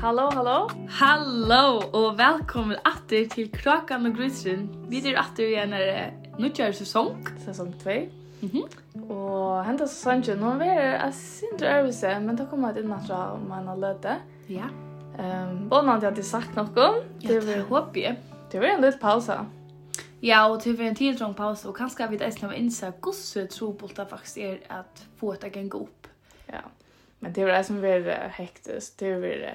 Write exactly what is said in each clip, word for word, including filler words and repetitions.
Hallå, hallå. Hallå och välkommen åter till Krakan och Grisen. Vi är åter igen när nutjar säsong. Säsong två. Mhm. Och hända säsongen, nu är det synd övelse, men då kommer det in att man har löte. Ja. Ehm, både att jag hade sagt något. Det var hopp jag. Det var en liten pausa. Ja, och till en tilltrång paus och kanske vi dessutom har insett hur så trobult det faktiskt är att få det att gå upp. Ja. Men det var det som var hektiskt. Det var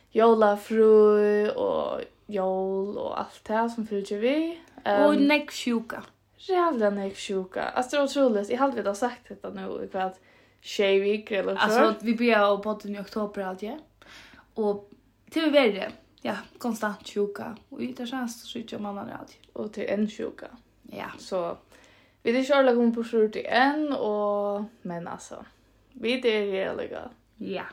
jolafru och jol och allt det som fyllde vi. Um, och näcksjuka. Jävla näcksjuka. Alltså det var otroligt. Jag hade väl sagt detta nu i kvart tjejvik eller så. Alltså vi började på podden i oktober allt, ja. Och till vi det. Ja, konstant sjuka. Och det känns så mycket om annan allt. Och till en sjuka. Ja. Så vi är inte alla gånger på skjort än. Och, men alltså, vi är realiga. Ja.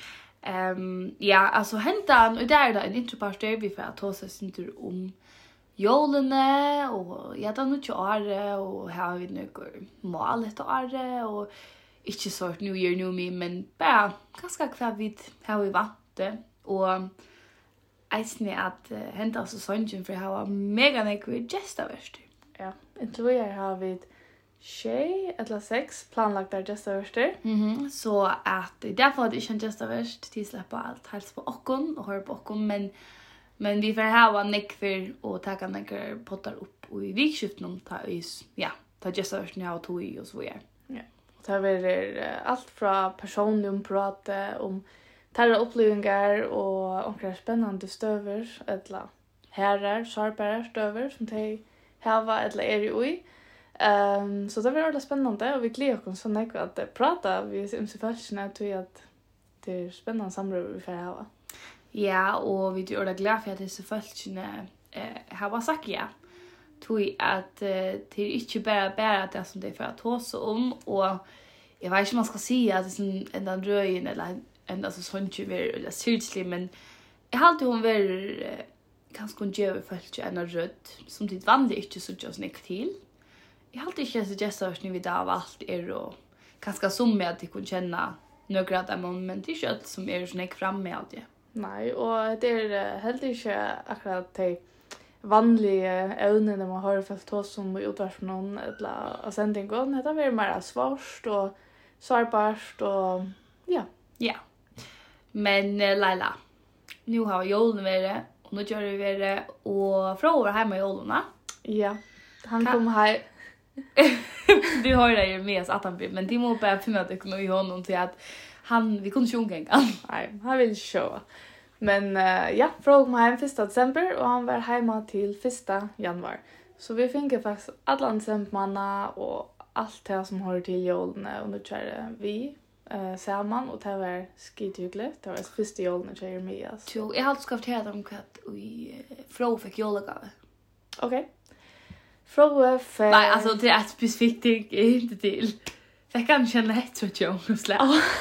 Um, ja, alltså hentan, och där är det en introparter vi får ta oss inte om jolene, och ja, det är nog året, och här har vi några mål ett året, och inte så ett new year, new me, men bara ganska kvar vid här vi varit, och eisne att uh, henta så sången för här var mega nekvi gestaverst. Ja, inte vi har vi tjej eller sex planlagt där gestaverster. Mhm. Så att därför att det inte gestaverst till släppa allt helst på okon och höra på okon, men men vi får ha nekver och ta kan nekver pottar upp och i vikskiften ta is ja, ta gestaverst nu och tog i och så vidare. Ja. Och det är uh, allt från personliga prata om tarra upplevelser och omkring spännande stöver eller herrar, sharpare stöver som de har eller är i. Um, så det var väldigt spännande och vi gläder oss så mycket att prata vi om sig först när tror att det är spännande samråd vi får ha. Ja, och vi är glada för att det är så följande eh har sagt ja. Tui att eh, till inte bara bara det som det är för att håsa om, och jag vet inte om man ska säga att det är en annan röjen eller ända så sånt ju ver eller syrtslig, men jag har alltid hon ver ganska en djävul fölke en röd som det vanligt inte så just nick till. Jag har alltid inte suggestat ni vid av allt är och ganska som med att de kan känna några av dem, men det är inte som är så nick fram med allt det. Nej, och det är helt inte akkurat de vanliga ämnen när man har fått oss som utvarp någon eller sändningen. Det är väl mer svårt och sårbart och ja. Ja. Men uh, Laila, nu har vi julen vere, och nu gör vi vere, och från over hemma i julen. Ja, han kom här. Du har det ju med oss att han blir, men det må bara finna att ekonomi honom till att han, vi kunde sjunga en gång. Nej, han vill show. Men uh, ja, från kom hem första december och han var hemma till första januari. Så vi fick faktiskt alla decembermanna och allt det som hör till julen, och nu kör vi Uh, samman, och det var skithyggligt. Det var första julen jag kör med oss. Så jag har alltid skaffat här om att vi Frå fick julegave. Okej. Okay. Frå fick... Nej, alltså det är ett specifikt ting, inte till. Jag kan känna ett tror jag om släpp.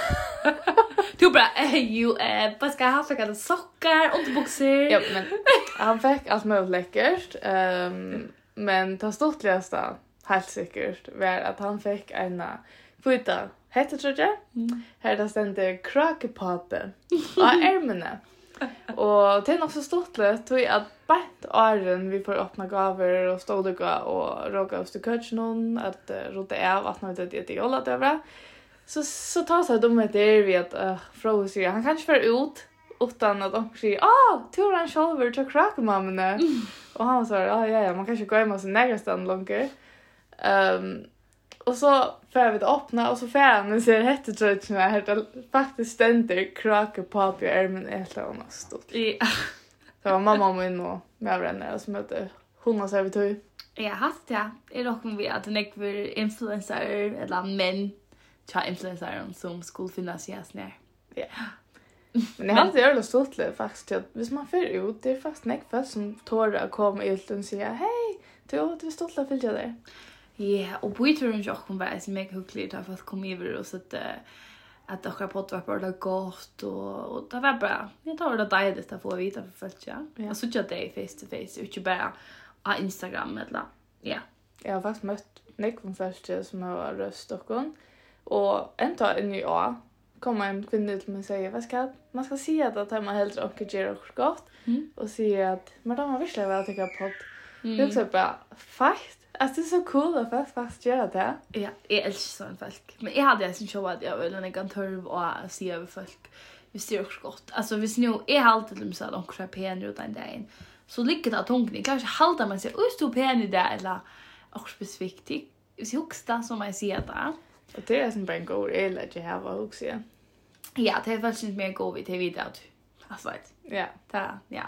Du bara, eh, ju, eh, vad ska jag ha för sockar, underboxer? Ja, men han fick allt möjligt läckert. Um, men det störtligaste, helt säkert, var att han fick en kvita hette tror jag. Mm. Här där ständer krakepape och ärmarna. Och det är nog så stort lätt att bänt åren vi får öppna gaver och stådiga och råka oss till kötchen att uh, rota av att något det är jolla över. Så så tar sig de med det vi att uh, Frå säger han kanske för ut utan att de säger ah tror han själv till krakemamma. Mm. Och han sa ja ja ja man kanske går hem och så nästan långt. Ehm Och så får vi det öppna och så får han ser hette trötterna här det faktiskt ständer krake på på ärmen ett eller annat stort. Ja. Så var mamma min och med vänner som mötte hundra servitör. Ja, haft ja. Är dock vi att det är för influencer eller män tja influencer som skulle finnas i snär. Ja. Men det har alltid gjort det stort det faktiskt att hvis man får ut det är faktiskt näck som tår att komma ut och säga hej, du du stort att följa dig. Ja, och på ytterligare jag kom bara så mycket hyggligt att få komma över och så att att det har fått vara bara gott och och det var bra. Jag tar det där att få vita för fullt ja. Jag såg ju det face to face inte bara på Instagram eller ja. Jag har faktiskt mött Nick från första som har röst och hon och ända en ny år kommer en kvinna till mig och säger, vad ska man ska säga att att man hellre och gör och gott Mm. och säger att men de har visst väl tycker på. Mm. Det är också bara fast. Alltså det är så cool att fast fast göra det. Ja, jag älskar sån folk. Men jag hade sin show att jag vill en kan törv och se över folk. Vi ser också gott. Alltså vi nu är alltid till så att de kör pen ut den dagen. Så lyckat att hon kan kanske halta man sig och stå pen i det eller också specifikt. Vi högsta som jag ser där. Och det är som bara en god eller att jag har också. Ja, det är faktiskt inte mer god vid T V där. Alltså Ja. det ja.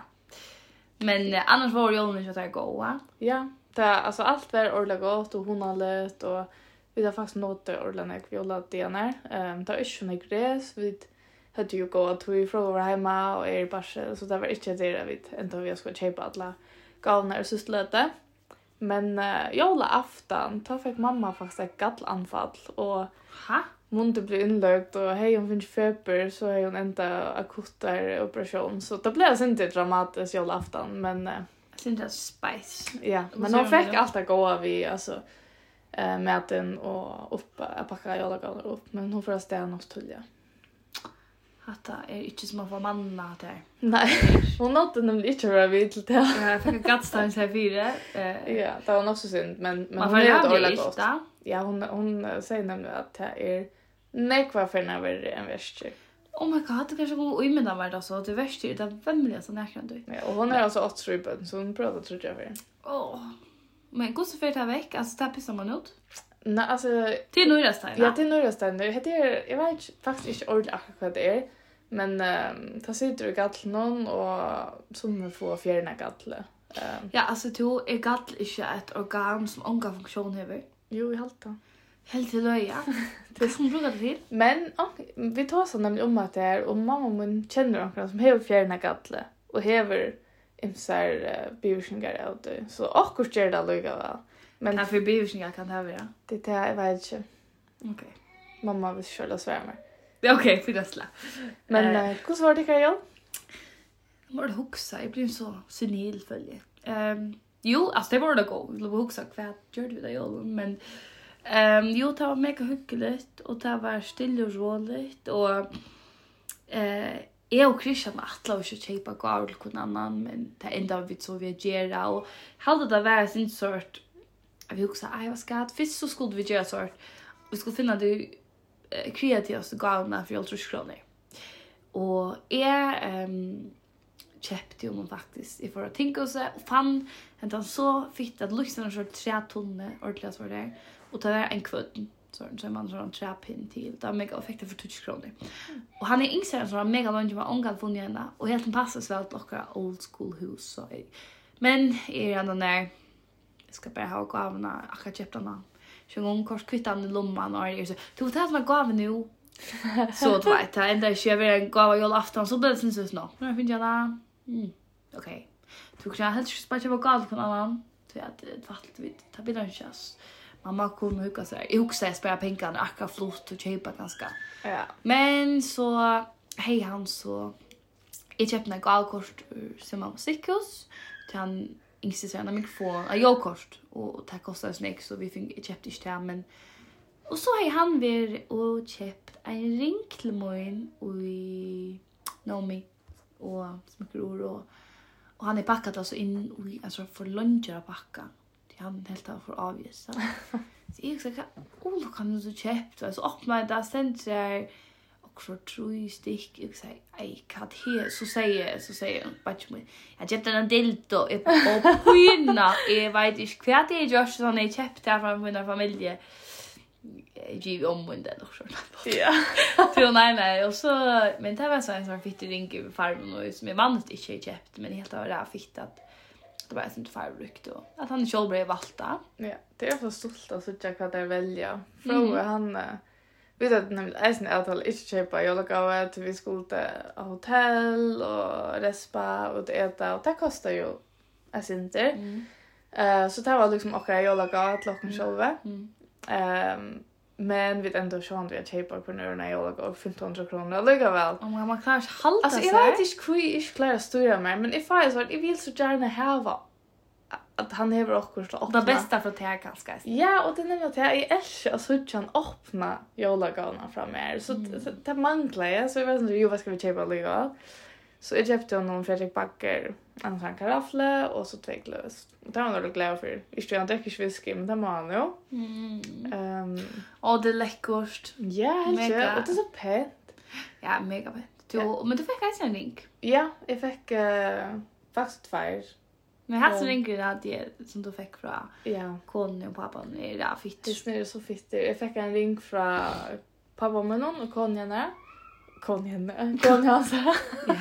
Men eh, annars var det ju inte så där goda. Ja, det är alltså allt var ordentligt gott och hon har lätt och vi har faktiskt nått det ordentligt viola D N R. Ehm det är inte något gräs vi hade ju gått att vi från vår hemma och är bara så det var inte det vi ändå vi skulle köpa alla galna och systlöte. Men uh, jola afton då fick mamma faktiskt ett gallanfall och Ha? munnen blev inlagd och hej hon finns feber så är hon ända akut operation så det blev inte dramatiskt jola afton men uh, Sen det spice. ja, men hon fick allt att gå vi alltså eh maten och upp att packa jola galna upp men hon får stäna något tulja. Hatta är inte som att få manna där. Nej, hon nådde nämligen inte vara vid till det. Jag fick en gattstans här fyra. Eh, Ja, det var nog så synd, men, men man hon får är göra dåligt det gott. inte. Ja, hon, hon säger nämligen att det är nekva för när värre än värst. Oh my god, det kanske går i mina värld alltså. Det värsta är det vemliga som näkran du. Ja, och hon är alltså åtta strupen, så hon pratar tror jag för. Åh. Men går så för det här veck, alltså där pissar man ut. Nej, alltså Till Norrastajna. ja, det är några ställen. Det är jag vet faktiskt inte ordentligt akkurat vad det är, men ehm ta sitter i gatlen någon och som får fjärna gatle. Ehm Ja, alltså to är gatl inte ett organ som onka funktion har. jo, i halta. Helt till löja. Det är som brukar det till. Men ja, vi tar så nämligen om att det är och mamma mun känner någon som har fjärna gatle och hever imsar uh, bivirkningar av det. Så akkurat gör det lika väl. Men Men för bivirkningar kan det här vara. det är jag vet inte. Okej. Mamma vill köra svärmar. Ja, okej, för det slä. Men Eh. uh, hur var det kan jag? Jag måste huxa, jag blir så senil följe. Um, jo, alltså det var det gå. Jag vill huxa vad gör du det jag men ehm um, jo, det var mega hyggligt och det var still och roligt och eh jag och Christian attla och köpa gåvor till någon annan men det enda vi så vi gera och hade det var sin sort vi också aj vad ska det fisk så skulle vi göra sort vi skulle finna det eh, kreativaste gåvorna för ultra kronor. Och är ehm köpte ju man faktiskt i för att tänka sig och fann att så fitt att lyssna så tre tonne ordentligt var det och ta en kvudd så så man så en trapin till det var mega effektivt för tusen kronor. Och han är inser så mega långt med ongal funnit henne och helt en passas väl att locka old school hus så men är ändå när jag ska bara ha gåvorna jag köpte den så en gång kort kvittan i lomman och är så du tar som gåva nu så det var det enda jag vill en gåva jag afton så det syns så nu jag finner jag mm okej du kan helt spara på gåva på annan så att det vart vi tar bilden chans mamma kunde hugga sig jag också spara pengar akka flott och köpa ganska Ja. men så hej han så jag köpte en gåvakort som man musikhus till han insisterade en mikrofon och jag kort och det kostade så mycket så vi fick köpte inte det men och så har han ver och köpt en ring till mig i Nomi och smycker och och han är packat alltså in i alltså för luncher att packa. Det han helt av för avgifter. Så jag sa oh kan du köpt alltså öppna det sen så också tre stick jag säger aj kat här så säger så säger batch mig. Jag köpte en dildo och pyna jag vet inte kvart det är just så när jag köpte från min familj. Giv om och den också. Ja. Så nej nej och så men det var så en sån fitt ring i farmen och som är vanligt inte köpt men helt av det här fitt att det var inte farbrukt och att han själv blev valta. Ja, det är så stolt att se vad det välja. Från han vet att nämligen är sen att inte köpa julgåva till vi skulle till hotell och respa och äta och det kostar ju är inte. Mm. Eh så det var liksom okej julgåva till locken själva. Mm. Ehm men vi ändå så han vi köpa på nu när jag går femtonhundra kronor lika väl. Och man klarar sig halta Alltså sig. jag vet inte hur jag inte klarar att styra mig men if I så jag vill så gärna ha att han har också så Det bästa för det här kanske. Ja, och det nämner att jag älskar att så han öppna jolagåna fram mer. Så Mm. det manglar jag så jag vet inte ju vad ska vi köpa lite. Så jag köpte någon Fredrik Backer, en sån karaffle och så två glas. Det var jag glad för. Inte jag dricker whisky, men det var han ju. Mm. Ehm, Och det är läckert. ja, Mega. och det är så pent. Ja, mega fint. Du, Ja. men du fick alltså en ring. Ja, jag fick uh, faktiskt två. Men här så Ja. ringer det att det som du fick från Ja. konen och pappan är det fitt. Det är så fint. Jag fick en ring från pappa med någon och konjarna. Konjarna. Konjarna.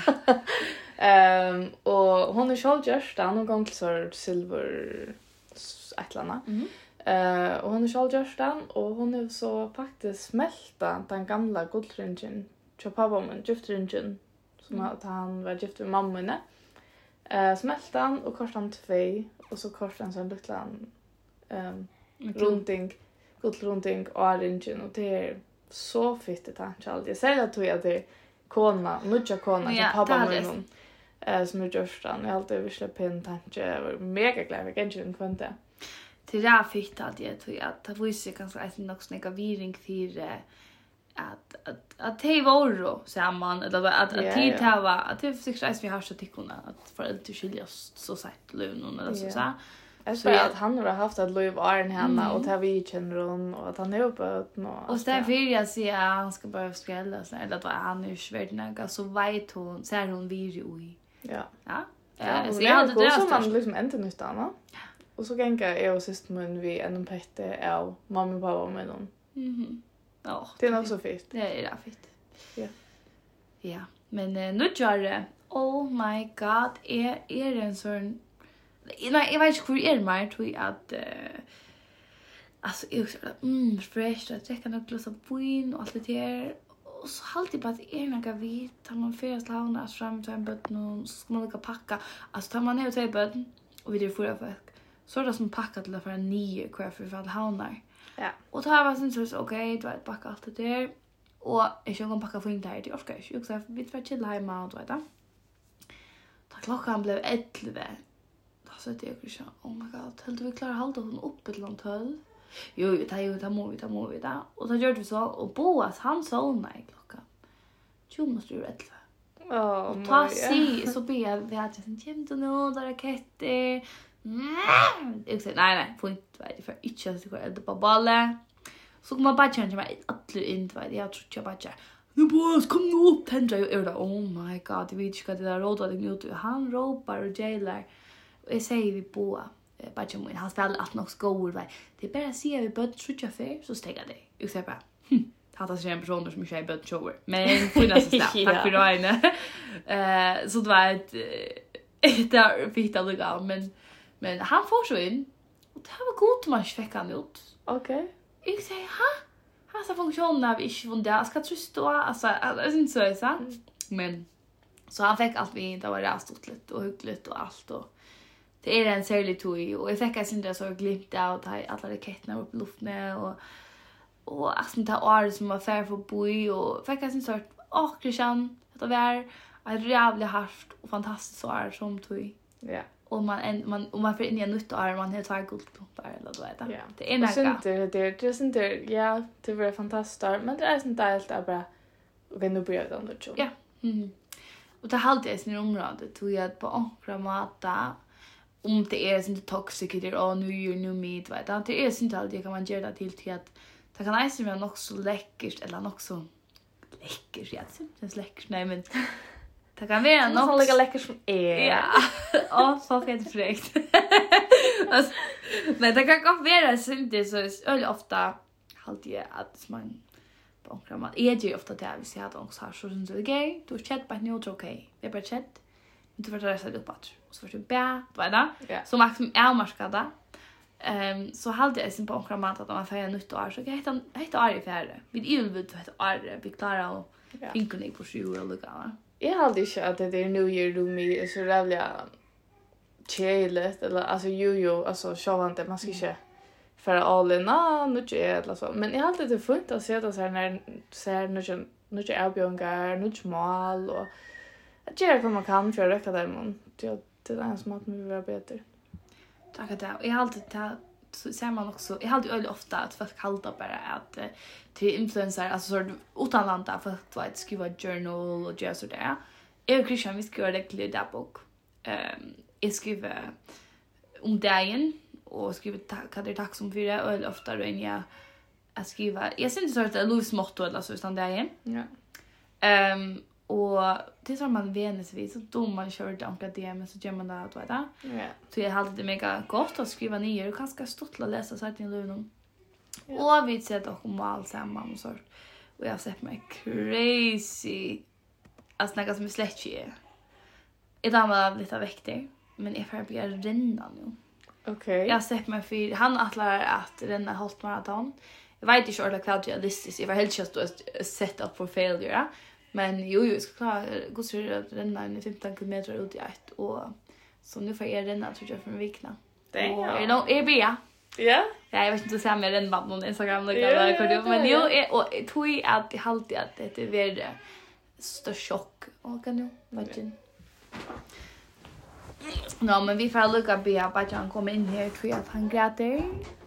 Ehm och hon är själv just där någon gång så silver ätlarna. Mhm. Eh och hon är själv just där och hon är så faktiskt smälta den gamla guldringen. Till pappa med giftringen som Mm. att han var gift med mamma. Eh smälta han och korsade han två och så korsade han så en liten ehm runding, guldrunding och ringen och det är så fint det här allt. Jag säger att jag det kona, nutja kona Ja, som pappa det med hade någon. Eh som är görstan. Jag har alltid visst pen tanke. Jag var mega glad för kanske den kvante. Till det fick att jag tror att det visste kanske att det nog snäcka viring till eh, att att att det var ro samman eller att att Ja, tid ja. det var att det fick vi har så tyckorna att föräldrar skiljas så sagt lön eller så Ja. så. Jag Så tror jag- att han har haft ett liv Arne henne Mm. och tar vi känner hon och att han är uppe och Och så där vill jag säga att han ska bara skrälla så eller att han är svårt något så vet hon ser hon vir i. Ja. Ja. Ja, Eh, så så jag hade det som man störst. liksom inte nytta av. Och så gänga jag och sist men vi en pette av mamma och pappa med någon. Mhm. Ja. Det är nog så fint. Det är det fint. Ja. Ja, men uh, nu gör det. Oh my god, är är det en sån nej, jag vet inte hur är det mer tror jag att uh, alltså jag så mm fresh att jag kan också så vin och allt det där. Och så alltid bara att är några vit tar man färst havna fram till en böt och så ska man lika packa. Alltså tar man ner till böt och vi det förra för så är det som packat till för en nio kvar för att havnar. Ja. Och tar var sen så okej, då vet packa allt det där. Och jag ska gå och packa för inte här till orkar jag. Jag sa vi får chilla hemma och vet du. Då klockan blev elva. Då sa jag ju så oh my god, helt vi klarar hålla hon uppe till tolv. Jo, jo, ta ju ta må vi ta må vi där. Och så gjorde vi så och Boas han sa nej klockan. tjugo måste ju elva. Åh, Och ta sig så be jag vi hade sen jämt och nå där raketter. Mm. Jag sa nej nej, får inte vet för inte så går det på bollen. Så kommer bara känna mig att inte vet jag tror jag bara nu boss kom nu upp tändra ju är det oh my god det vet inte vad det där rådar det ut han ropar och jailar och jag säger vi på bara ju han spelar att nog går väl det är bara se vi börjar trutcha för så stänger det jag säger bara hata sig en person som kör börjar shower men finnas så snabbt tack för det eh så det var ett det där fick det lugnt men men han får så in och det var gott man fick han ut. Okej. Jag säger, ha? Hassa funktionen har vi inte från det. Ska trösta, alltså, det är inte så är så. Men, så han fick allt vi inte var rästotligt och hyggligt och allt. Och det är en särlig tog och jag fick alltså inte så glimt av att alla raketterna upp i luften och och alltså det här året som var färd för boi och fick alltså inte så åh, Christian, det var ett jävla harft och fantastiskt år som tog. Ja. Och man en man och man får in i en nytt år man har två guldklompar eller då vet jag. Ja. Det är Och näka. sen det det det är inte ja, det var fantastiskt men det är inte allt är bara okej nu börjar det ändå så. Ja. Mhm. Och det halt jag sin område tog jag på ankra mata om det är inte toxic det och nu gör nu med vet jag. Det är inte alltid kan man göra det till till att det kan inte vara något så läckert eller något så läckert ja, det är läckert nej men det kan vara Något som något lika läckert som är. ja. Ja, så fett fräckt. Alltså, men det kan gå vara så inte så öl ofta halt jag att man på kramar. Är ju ofta det vi ser att också har så syns det okej. Du chat på nu okej. Det är bara chat. Men du får resa upp att och så får du bä, vad är Ja. Så max är marskada. Ehm så halt jag sin på kramar att man får nytt år så heter heter Ari färre. Vi är ju heter Ari vi klarar och Ja. pinka på sju eller lugna. Jag hade inte att det är New Year do me är så jävla chilligt eller alltså ju ju alltså självant man ska inte för all in ah nu är eller så men jag har alltid det fint att se det så här när ser nu nu är Albiongar nu smal och att göra vad man kan för att räcka där men det det är en smak med vara bättre. Tack att det. Jag har alltid ta så ser man också. Jag har alltid öl ofta att folk kallar bara att uh, till influencer alltså så utanlanda för att vad skriva journal och göra så där. Jag Christian vi skriver det till dagbok. Ehm jag skriver om dagen och skriver tack det tack som för det öl ofta då jag att skriva. Jag syns så att det är Louis motto eller så utan dagen. Ja. Ehm och det som man venusvis så då man kör det ankar det men så gör man det att vet jag. Ja. Så jag hade det mega gott att skriva ner och ganska stort att läsa så att i luven. Och vi ser dock om allt samman och så. Och jag har sett mig crazy. Alltså något som är slätt är. Idag var jag lite väcktig. Men jag får bli renna nu. Okej. Okay. Jag har sett mig för han attlar att renna halt maraton. Jag vet inte om det är realistiskt. Jag var helt just att set up for failure. Men jo, jo, jag ska klara gå så att renna i femton kilometer ut i ett. Och så nu får jag renna tror jag för en vecka. Det är och är nog är bra. Ja. Ja, jag vet inte så med rennband på Instagram och ja, ja, men jo är och tror jag att jag alltid att det är värre större chock och kan ju verkligen. Ja, men vi får lucka be att han kommer in här tror jag att han gråter.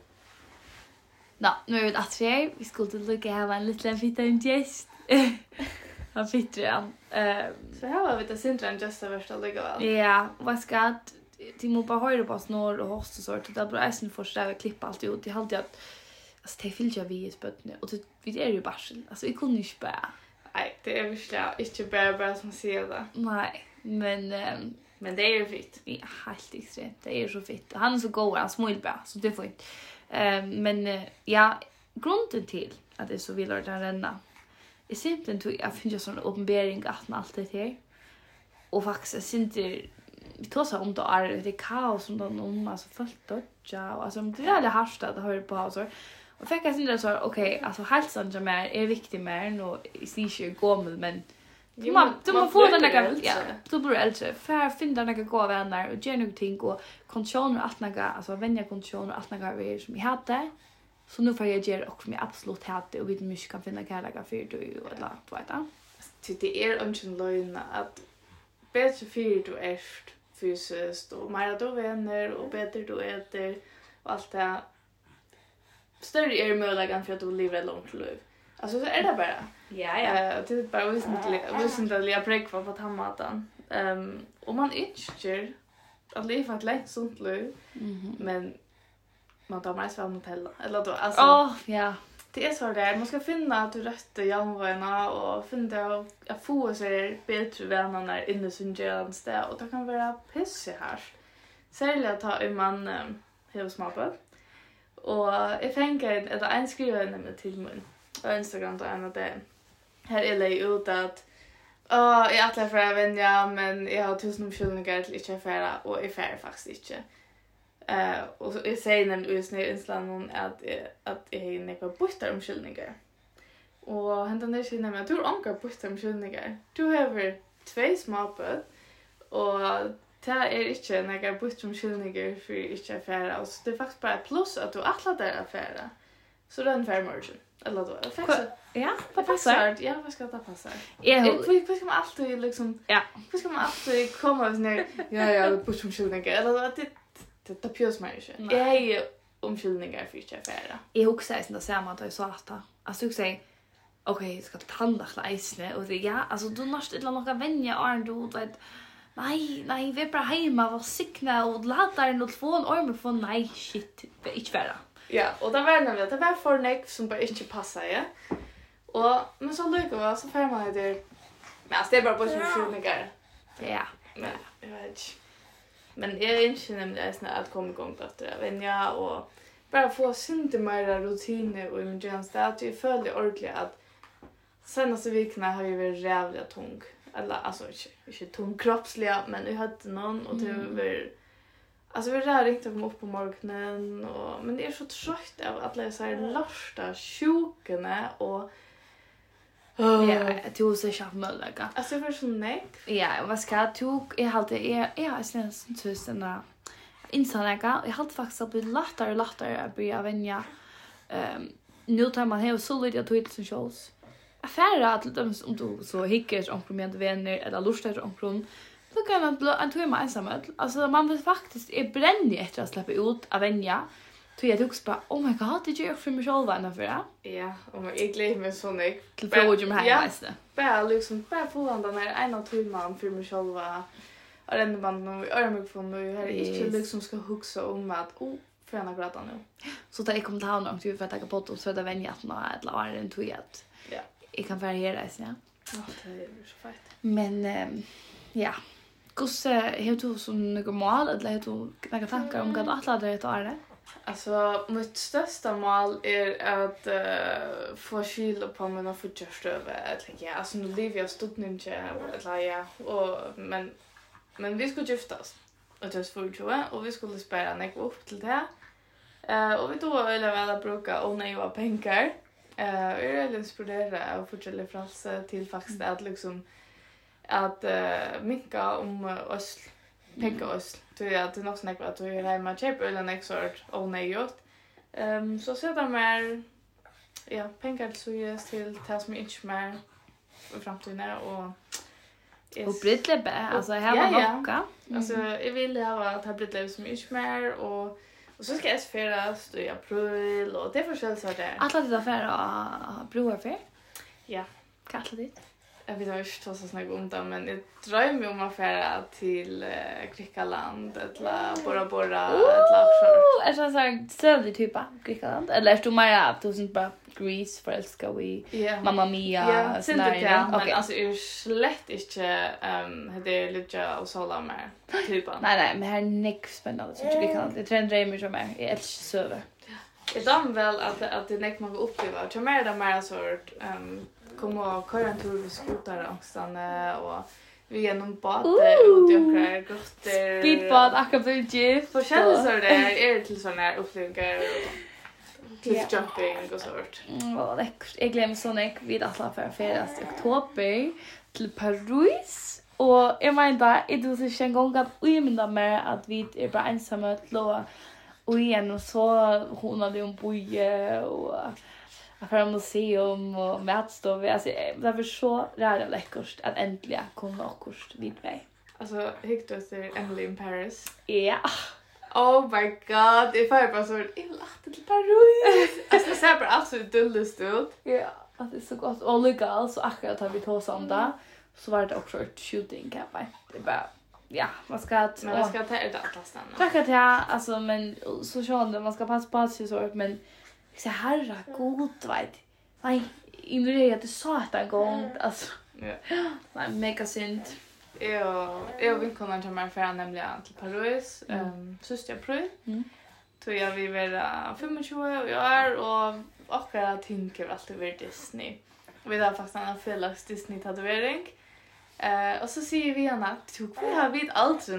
Ja, nu är det att säga vi skulle lucka ha en liten liten gäst. Han fick det. Ehm så här var vi det syndran just det värsta lugga väl. Ja, vad ska de må bara höra på snor och host och sånt. Det blir äsen för att klippa allt ut. Det har alltid att alltså det vill jag vi i spötne och det är ju bara alltså vi kunde ju bara. Nej, det är verkligen inte bara bara som säger det. Nej, men um, men det är ju fint. Ja, helt extremt. Det är så fint. Han är så god, han smål bra så det får inte. Um, men uh, ja, grunden till att det är så vill att renna. är simpelthen tog jag finner sån uppenbarelse att man allt det här. Och faktiskt synte vi tar så om det är det kaos som de om alltså fullt dodja och alltså det är det harsta att höra på så. Och fick jag synte så okej, alltså hälsan som är är viktig mer och i sig gommel men du man du man får den där ja, du blir äldre. För finna några goda vänner och göra någonting och konditioner allt några alltså vänja konditioner allt några vi som vi hade. Så nu får jag göra också med absolut hade och vi mycket kan finna kärleka för du eller vad det är. Det är inte lögn att bättre för du är fysiskt och mer du vänner och bättre du äter och allt det. Större är möjligheten för att du lever ett långt liv. Alltså så är det bara. Ja, ja. Uh, det är bara väsentliga präck för att ha maten. Um, och man önskar att leva ett lätt sunt liv. Mm-hmm. Men man tar mest av Nutella. Eller då, alltså. Åh, oh, ja. Det är så där. Man ska finna att du rätter jämnvägarna och finna att få sig bättre vänner inne i sin sted. Och det kan vara pissig här. Särskilt att ta en man um, hos mappen. Och jag tänker att en skriver nämligen till mig på Instagram då en av det. Här är det ut att åh, jag är för att vänja men jag har tusen omskyldningar till inte affära och jag färre faktiskt inte. Uh, och så jag säger nämligen just när jag inslår att, att jag är nekvar bort omskyldningar. Och hända när jag säger nämligen att du har ångar bort omskyldningar. Du har två småpöt och det är inte nekvar bort omskyldningar för inte affära. Och så det är faktiskt bara plus att du attlar där affära. Så det är en fair margin. Eller då. Ja, det passar. Ja, vad ska det passa? Hur ska man alltid liksom... Ja. Hur ska man alltid komma och säga ja, ja, bort omskyldningar. Eller då, det Det tar pjus mig inte. Jag har ju omskyldningar för inte affära. Jag också säger det samma att jag sa att alltså jag säger okej, jag ska tandla läsne och det ja, alltså du måste inte några vänner och du vet nej, nej, vi är bara hemma var sickna och latar en telefon och med från nej shit, det är inte värre. Ja, och det var nämligen det var för neck som bara inte passar ja. Och men så lyckas var så får man det. Men alltså det är bara på omskyldningar. Ja. Men jag vet inte. Men jag är inte nämligen att komma igång på det. Men ja, och bara få synte mer rutiner och i min tjänst. Att jag följer ordentligt att senaste veckorna har jag varit rävliga tung. Eller alltså inte, inte tung kroppsliga, men jag hade någon och det var... Alltså vi har ringt att komma upp på morgonen. Och, men det är så trött av att läsa här lörsta sjukorna och... Oh. Ja, jag tror så jag möjliga. Alltså jag var så näck. Ja, vad ska jag tog? Jag hade jag jag har sen tusen där insanaga. Jag hade faktiskt att bli lättare och lättare att börja vänja. Ehm nu tar man här så lite att ta som shows. Affärer att de om du så hickers om med vänner eller lustar om från Då kan man en tur med ensamhet. Alltså man vill faktiskt är brännig efter att släppa ut av vänja. Så jag tycker bara, oh my god, det gör jag för mig själv ända för det. Ja, och jag glömmer mig så mycket. Till frågor med här mest. Bara liksom, bara få den här ena timman för mig själv. Och den man nu är mig på nu här inte liksom ska huxa om att oh för en grad nu. Så där jag kommer ta någon till för att ta på och så där vänja att nå ett la en tweet. Ja. Jag kan variera det, ja. Ja, det är så fint. Men um, ja. Kus har du som några mål eller har du några tankar om vad alla det är det? Alltså, mitt största mål är att uh, få skil på mina futjörstöve. Ja, alltså nu lever jag stort inte eller ja, och men men vi skulle giftas. Och det var tjugo och vi skulle spara nek upp till det. Eh och vi då ville väl bruka och nej var pengar. Eh och jag är inspirerad av fortsätta frans till faktiskt att liksom att uh, minka om oss pengar oss till att det nog snackar att vi är hemma köper eller next sort och nej gjort. Ehm så så där mer ja pengar så just till tas mig inte mer i framtiden och yes. Och brittlebe, alltså här var ja, nocka. Mm. Alltså jag vill ha att ha brittlebe som inte mer och och så ska jag färdas i april och det är förskäll så där. Alla det där och broarfär? Ja, kallar det. Jag vet inte så så snägg om det men jag drömmer om att färra till uh, Grekland eller Bora Bora eller så. Är det så här sövlig typ av Grekland eller är du mer att du inte bara Greece för älskar vi yeah. Mamma Mia yeah, scenario men okay. alltså är slett inte ehm det är lite och så mer typen. Nej nej men här nick spännande så Grekland. Det trendar mig som är jag älskar söver. Jag dam väl att att det näck man går uppleva. Jag mer där mer sort ehm komma och köra en tur vid skotarangsten och vi genom bad och djukar grottor. Speedbad akabudget. För känslor där är det till såna här upplevelser och cliff jumping och sånt. Ja, läckert. Jag glömmer så när vi alla för färdas i oktober till Paris. Och jag menar, det var så en gång att jag menar med att vi är bara ensamma och och igen och så hon hade en boje och affär museum och matstov. Alltså det var så rätt läckert att äntligen komma och kurs vid mig. Alltså Hector är Emily in Paris. Ja. Oh my god, if I bara så jag vill åka till Paris. Alltså det ser bara absolut dullest ut. Ja, att det är så gott. Och legal så akkurat har vi tagit om det. Så var det också ett shooting kan jag. Det är bara ja, man ska att men man ska ta ut alla stanna. Tack att jag alltså men så sjön man ska passa på att så sort men så herra god vet. Nej, ignorerar det så att en gång alltså. Ja. Nej, mega synd. Jag jag vill kunna ta mig för nämligen till Paris ehm sista april. Mm. Så jag vill vara tjugofem och jag är och akkurat tänker alltid över Disney. Vi har faktiskt en felax Disney tatuering. Eh och så säger vi henne att vi har vid alltid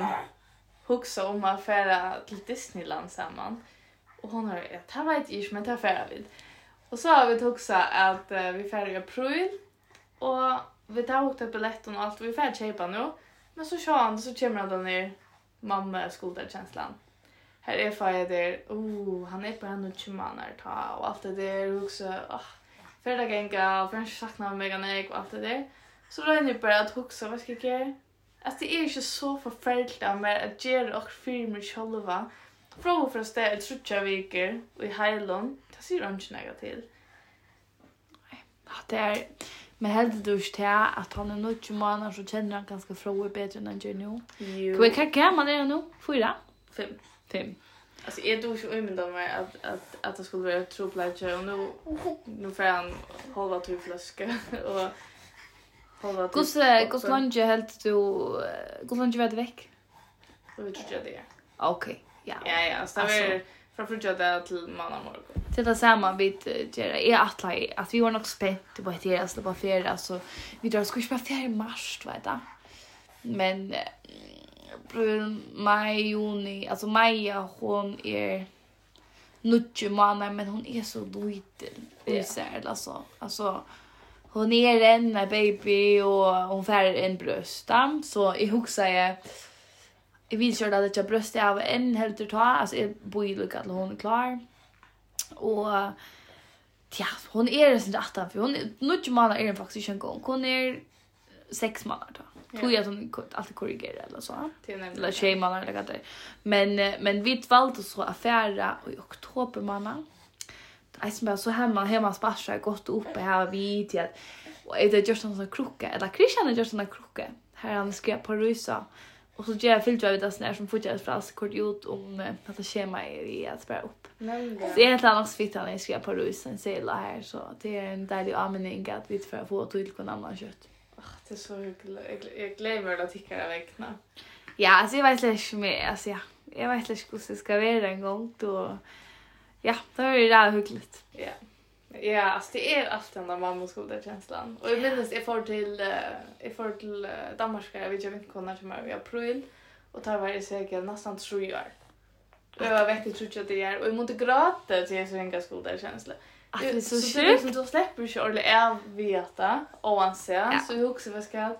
huxa om att färra till Disneyland samman. Och hon har ett här vet jag men tar färra vid. Och så har vi huxa att uh, vi färrar i april och vi tar åkt upp biljetten och allt vi färd köpa nu. Men så kör han så kommer han ner mamma skoldarkänslan. Här är färd där. Oh, han är på en och tjugo månader ta och allt det där också. Oh, färda gänga och förrän saknar mig och allt det där. Så då är det bara att huxa vad ska jag göra? Alltså det är inte så förfärligt av mig att göra och filmer själva. Fråga för att ställa ett trutja veckor i Highland. Det ser jag inte något till. Ja, det är men helt dusch till att han är nog tjugo månader så känner han ganska frågor bättre än han gör nu. Jo. Vad kan gammal är nu? Fyra? Fem. Fem. Alltså jag tror så umynda mig att att att det skulle vara ett troplage och nu nu får han hålla till flaska och hålla till. Hur hur länge helt du hur länge vet veck? Och vi tror jag det. Okej. Ja. Ja ja, så det är från frukta till måndag morgon. Till det samma bit gera är att att vi var nog spänt på det alltså på ferie så vi drar skulle spela ferie i mars vet du. Men april, maj, juni, alltså Maja hon är nio månader men hon är så liten. Isär alltså. Alltså hon är en baby och hon får en bröstam så i huxa jag jag vill köra det jag bröst av en helt ta alltså jag bor ju lika att hon är klar. Och ja, hon är det sånt att för hon nio månader är faktiskt en gång. Hon är sex månader då. Tror jag att hon alltid korrigerar eller så. Till nämligen. Eller tjejmannen eller vad det är. Men, eh, men vi valde så affära i oktober månad. Jag som bara så hemma, hemma sparsar gått upp här vid till att och är det just en sån krocka eller Christian är just en krocka. Här han skrev på rysa. Och så ger jag filter vid det snär som fortsätter fras kort ut om att det schema i att spara upp. Nämligen. Så är ett annat fitt han skrev på rysa en sela här så det är en dejlig användning att vi för att få till någon annan kött. Det är så hyggligt. Jag glömmer att ticka av vägna. Ja, alltså jag vet inte mer. Alltså ja, jag vet inte hur det ska vara en gång då. Ja, då är det där hyggligt. Ja. Ja, alltså det är alltid den där mammaskolekänslan. Och jag minns jag får till uh, jag får till uh, Danmark jag vet jag vet inte när i april och tar varje säker nästan tre år. Och jag vet inte tror jag det är och jag måste gråta till så en skolekänsla. Alltså det är så, så sjukt. Det liksom då släpper ju ordentligt av veta och anse så jag också vad ska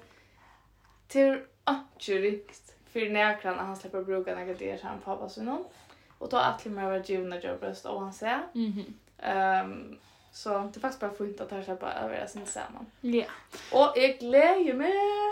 till absolut för näkran han släpper bruka några det han pappa så någon och då att mer var givna jobbbröst och anse. Mhm. Ehm så det är faktiskt bara fint att ta släppa över sin samman. Ja. Och jag glädjer mig.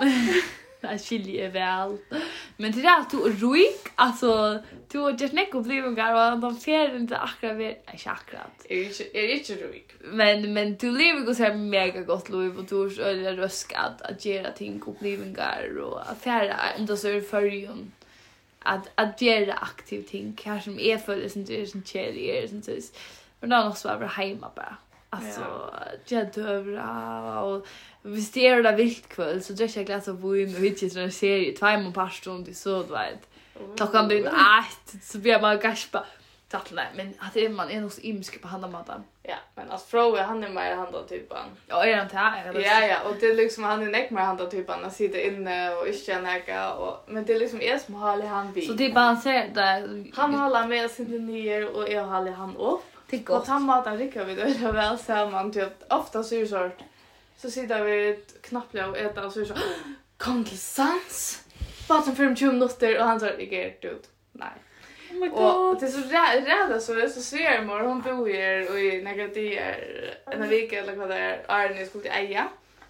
Det skiljer väl. Men det där att du är ruik, alltså du har just nekko blivingar och de ser inte akkurat vid, nej inte akkurat. Är inte är inte ruik. Men men du lever ju så här mega gott liv och du är rösk att att göra ting och blivingar och affärer ändå så är förjun att att göra aktiv ting kanske som är för det som det är som tjejer som så. Men då också vara hemma bara. Alltså, jag dövra och hvis det är det vilt kväll så drar jag glas av vin och hittar en serie två mån par stund så du vet. Klockan blir ett så blir man gaspa. Tattla men att det är man är nog så imsk på handamaten. Ja, men alltså Froe han är mer handla typen. Ja, är han här? Ja, ja, och det är liksom han är näck mer handla typen att sitta inne och inte näka och men det är liksom är som har han vid. Så det balanserar där. Han håller med sin ner och jag håller han upp. Det Och gott. tandmaten rycker vi då väl samman till att ofta så är det så så sitter vi ett knappliga och äta och så är det så kom till sans. Bara som för tjugo minuter och han sa det är ut. Nej. Oh my Och god. det är så rädda så det är så svärmor hon bor här och i negatier en vecka eller vad det är Arne skulle till Eja.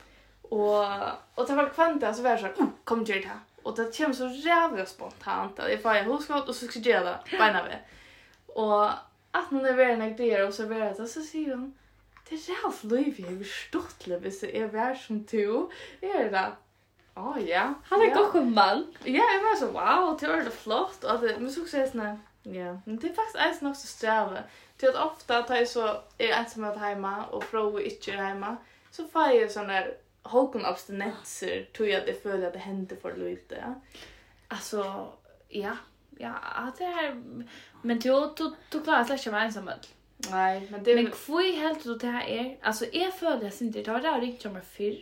Och och det var kvanta så var så kom till det här. Och det känns så jävla spontant. Jag får en huskott och så ska jag göra det bena vi. Och att man är väl negatier och så vet det så säger hon det är rätt liv jag har förstått det hvis det är värd som to. Är det? Ja, ja. Han är ja. god man. Ja, jag var så wow, det var det flott och det men så säger snä. Ja, men det är faktiskt är också sträva. Till att ofta tar jag så är ensam att hemma och fråga inte hemma så får jag sån där håkon abstinenser tror jag det följer att det händer för lite. Ja. Alltså, ja. Ja, det är men du du du klarar släcka med ensam. Nej, men det Men kvui helt då det här är alltså jag följer jag inte det har det ringt som fyr.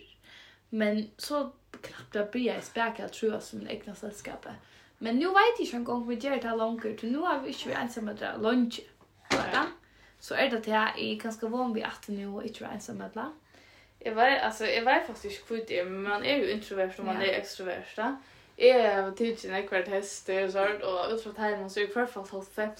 Men så knappt jag blir jag späka tror jag som egna sällskapet. Men nu vet jag en gång vi gör det här långt ut. Nu har vi inte vi ensamma dra lunch. Bara. Så är det det här är ganska van vid att nu och inte ensamma dra. Jag var alltså jag var faktiskt kvitt det men man är ju introvert och man Ja. är extrovert. Då. Jag har tidsen ekvart häst och sånt och utfrån hemma så är jag kvar halvfem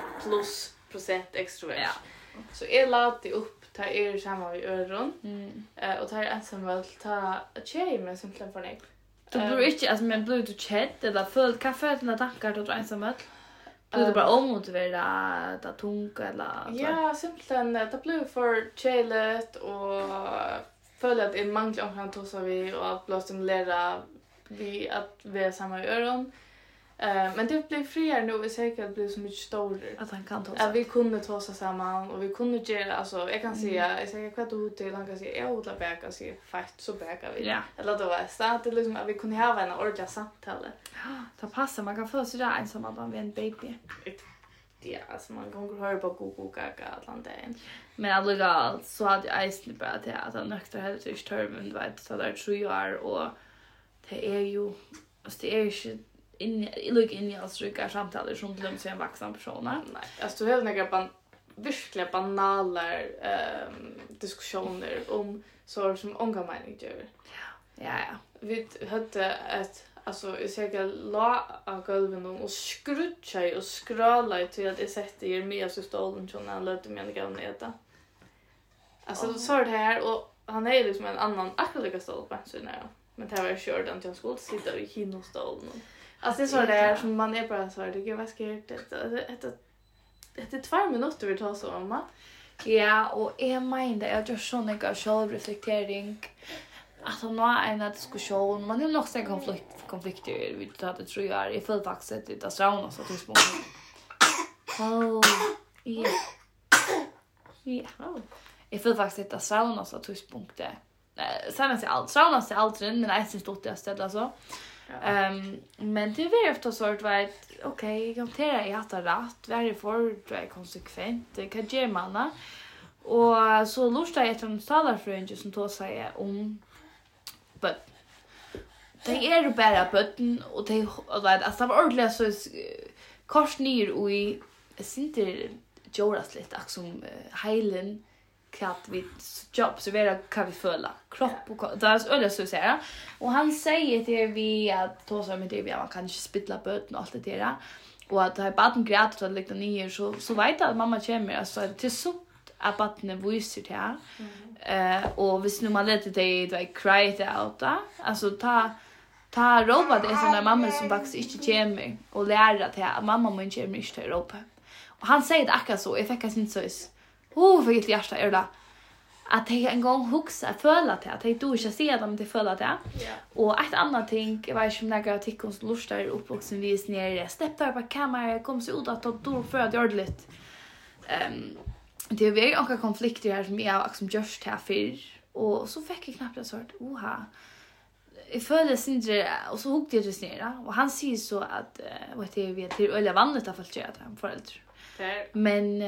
plus procent extrovert. Ja. Så jag lade upp ta er samma vid öron. Mm. Eh och ta er ensam väl ta ett tjej med som plan för mig. Du blir inte alltså men blir du chat eller full kaffe eller tankar då ensamma. Blir det bara omotiverad att tunga eller Ja, simpelthen det blir för chillet och följa att en manglar om kan tossa vi och att bli stimulera vi att vi är samma i öron. Eh men det blir friare nu och säkert blir så mycket större. att han kan ta Ja, vi kunde tossa samman och vi kunde göra alltså jag kan säga jag säger vad du till han kan säga jag odlar bäka och säga fast så bäkar vi. Ja. Eller då var det att liksom att vi kunde ha en ordentlig samtal. Det passar man kan få så där ensam att man är en baby. Ja, alltså man kan höra på Google Gaga Atlanten. Men alltså så hade jag ensam bara till att han nökter helt i törven du vet så där tre år och det är ju alltså det är ju in i lugg in i oss rykar samtal som glömmer sig en vuxen person. Nej, alltså du har några ban verkligen banala ehm diskussioner om så som unga människor. Ja, ja. Vi hade ett alltså jag säger la av golven och skrutcha och skrala till att det sätter er med så stolen som han lät mig gå ner det. Alltså Oh. så är det här och han är liksom en annan akkurat stol på så när. Men det var kört att jag skulle sitta i kinostolen. Alltså det är så där som man är bara så här, det är vad ska det det det är två minuter vi tar så mamma. Ja, och jag menar jag gör sån en självreflektering. Alltså nu är en diskussion, man har nog sen konflikt konflikter vi tar det tror jag är för faktiskt det är strauna så tills på. Oh. Ja. Ja. Jag får faktiskt det strauna så tills punkter. Eh sen är allt strauna så allt men jag syns det är ställa så. Ehm men det är ofta så att vet okej, jag tar jag har rätt, varje för det är konsekvent, det kan ge manna. Och så lustar jag till talarfränge som då säger om but det är ju bara button och det alltså var ordentligt så kors ner och i synter Joras lite som heilen katt vid jobb så vara kan vi följa kropp och det är öle så säga och han säger till vi att då så med det vi man kan inte spilla button och allt det där och att det är barn gråter att lägga ner så så vet att mamma kommer alltså till så att barnen visar till här. Eh och hvis nu man låter det det cry it out då alltså ta ta roba det är såna mamma som faktiskt inte kommer och lära till att mamma måste inte inte till ropa. Och han säger det akkurat så jag fick inte så is. Oh för ett hjärta är det att jag en gång huxa föla till att jag då inte ser dem till föla det. Och ett annat ting jag vet som några artiklar som lustar uppvuxen vis ner steppar på kameran kom så ut att då för att göra det lite ehm det är väldigt många konflikter här som jag liksom just här för och så fick jag knappt en sort oha. Jag följde syndre och så hugg det just ner och han säger så att vad det är vi till öle vanligt att falltjära föräldrar. Men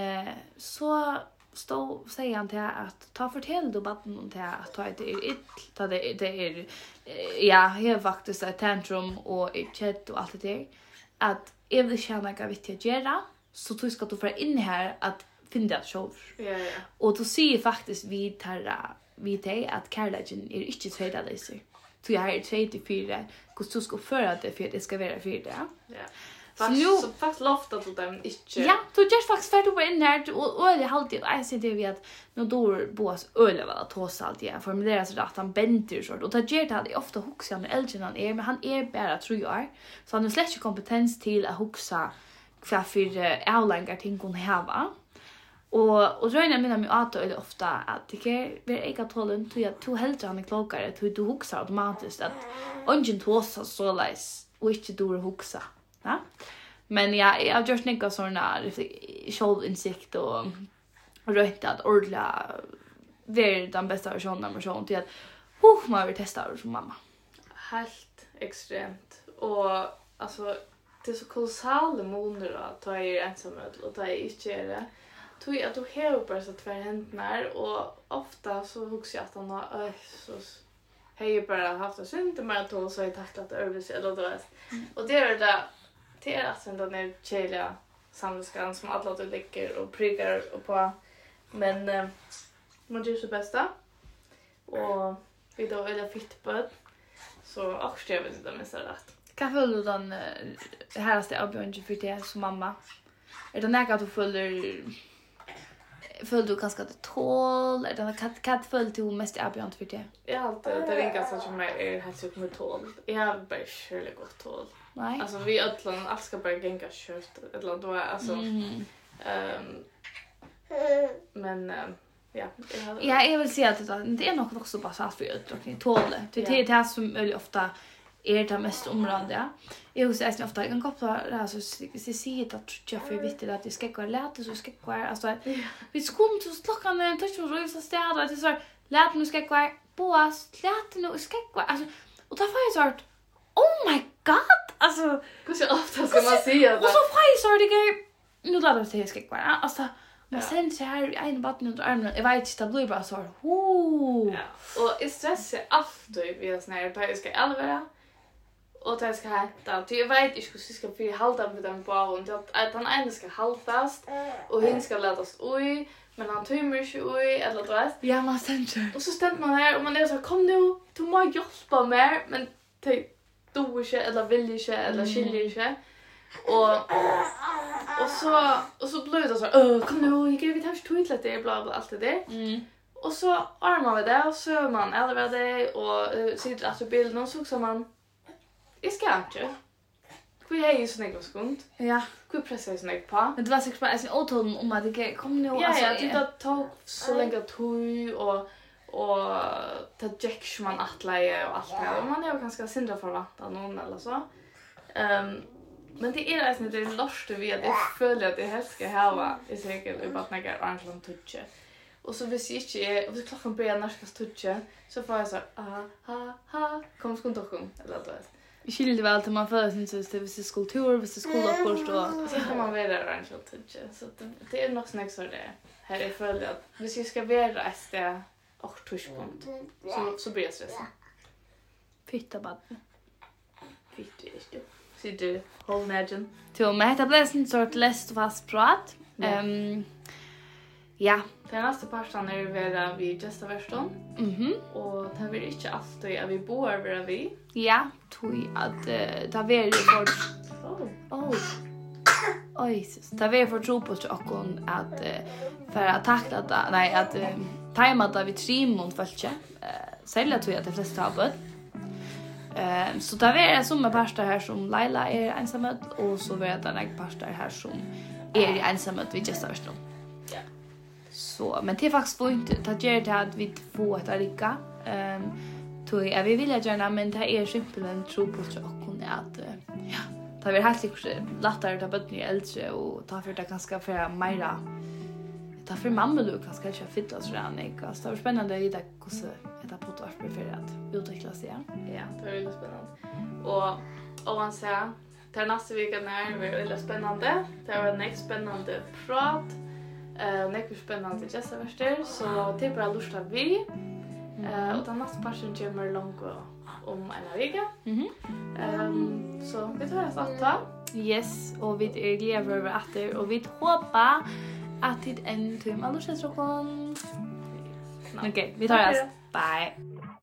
så stå säger han till att ta fortell då batten till att ta det är ett ta det det är ja, här faktiskt ett tantrum och ett chat och allt det där att jag vill känna att jag vet att göra så du ska du få in här att finna det själv. Ja ja. Och då säger faktiskt vi tarra vi te att kärleken är inte tvåda läser. Så jag har trettiofyra hur du ska föra det för att det ska vara för det. Ja. Fast nu så fast lofta till dem inte. Ja, du just faktiskt färd upp in här och och det alltid jag ser det vi att nu då bås öle var trots allt jag formulerar så att han benter så och det ger det ofta huxa med äldre han är men han är bara tror jag. Så han har släkt kompetens till att huxa för för avlängar ting hon har. Och och dröna mina med att det ofta att det är väl ega tollen till att to helt han är klokare till du huxar automatiskt att ungen tossa så läs och inte du huxa. Ja. Men ja, jag har just några såna självinsikt och rätt att ordla ver den bästa versionen av version till att oh man vill testa det som mamma. Helt extremt och alltså det är så kolossala månader att ta er ensam och ta er inte är det. Tog att du har bara så tvär händer och ofta så huxar jag att han har så hej bara haft det synd med att så har tacklat över eller då och det är det det är alltså den där chela samskan som alla då lägger och pryggar och på men eh, man gör sitt bästa och vi då är det fitt på så också jag vet inte om jag säger rätt. Kan följa den häraste avbjörnge för det som mamma. Är det något att du följer följer du kanske att tål eller den katt katt följer du mest avbjörnge för det? Jag har alltid det är ganska som är helt så med tål. Jag har bara själv gott tål. Nej. Alltså vi ödlan allt ska bara gänga kört eller då alltså mm. ehm men um, ja, jag Ja, jag vill säga att det, det är nog också bara så att för utdrukning tål det. Det är det som är ofta är det mest område. Jag vill säga att ofta kan koppla alltså se se att jag för viktigt att det ska gå lätt så ska gå alltså vi skulle så klockan en touch och så städa att det så lätt nu ska gå på lätt nu ska gå alltså och då får jag så oh my god alltså hur så ofta ska man säga det och så får jag så det nu låter det sig ska gå alltså men sen så här en botten under armen jag vet inte det blir bara så oh ja och är stress alltid vi har snär på jag ska allvara och det ska hända. Jag vet inte hur jag ska för hålla med den på och att han ena ska hållas och hin ska lätas oj men han tömmer inte oj eller vad vet. Ja, man ständer. Och så ständer man här och man är så kom nu, du måste hjälpa mig men det du inte eller vill inte eller skiljer inte. Och och så och så blir det så åh kom nu, jag kan vi tar inte till det bla bla allt det där. Mm. Och så armar vi det och så är man eller det och uh, sitter att bilden och så så man jag ska inte. Hur är ju snägg och skund? Ja. Hur pressar snägg på? Men det var säkert bara en åtton om att det kom nu Ja, alltså. ja, det tog så länge tog och och ta jacks man atleje och allt det här. Man är ju ganska syndra förväntan någon eller så. Ehm um, men det är alltså det lörste vi att jag följer att det helst ska ha i säkert i bara några anklan touch. Och så vis inte är och så klockan börjar när ska touch så får jag så ha ha ha kom skont och kom eller då. Vi skiljer väl till man för syns det är skulptur, det är skoloppost och så kan man vara anklan touch. Så det, det är nog snägt så det här är följer att hvis vi ska vara ett det och touchpunkt så så blir det stress. Fitta bad. Fitta är det. Så du håll nagen. Så med detta blir en sort läst och fast prat. Ehm ja, den nästa parten är vara vi gesta version. Mhm. Och det vill inte alltid att vi bor över vi. Ja, tog att uh, ta ver för Oh. Oh. Oj, så ta ver för tro på att att uh, för att tackla det. Nej, att uh, tajma det vi trim mot fältje. Eh sälja tror jag att de flesta har bort. Eh så där är det som en pastor här som Laila är ensam och så vet det en pastor här som är ensam vid just först. Ja. Så men det är faktiskt fint att göra det att vi får ett rika. Ehm tror jag vi vill gärna men det är simpelt en tro på att att ja, det blir helt säkert lättare att bli äldre och ta för det ganska för mera. Ta för mamma du kanske kanske fylla så där nej. Så det är spännande att veta hur det på att för att utveckla sig. Ja, det är väldigt spännande. Och och man säger till nästa vecka när det är väldigt spännande. Det var en spännande prat. Eh, mycket spännande gäster värster så det är bara lusta vi. Eh och den nästa passion kommer långt om en vecka. Mhm. Ehm så vi tar oss att ta. Yes, och vi är glada över att det och vi hoppas att det en tur med alla så kon. Okej, vi tar oss. Bye.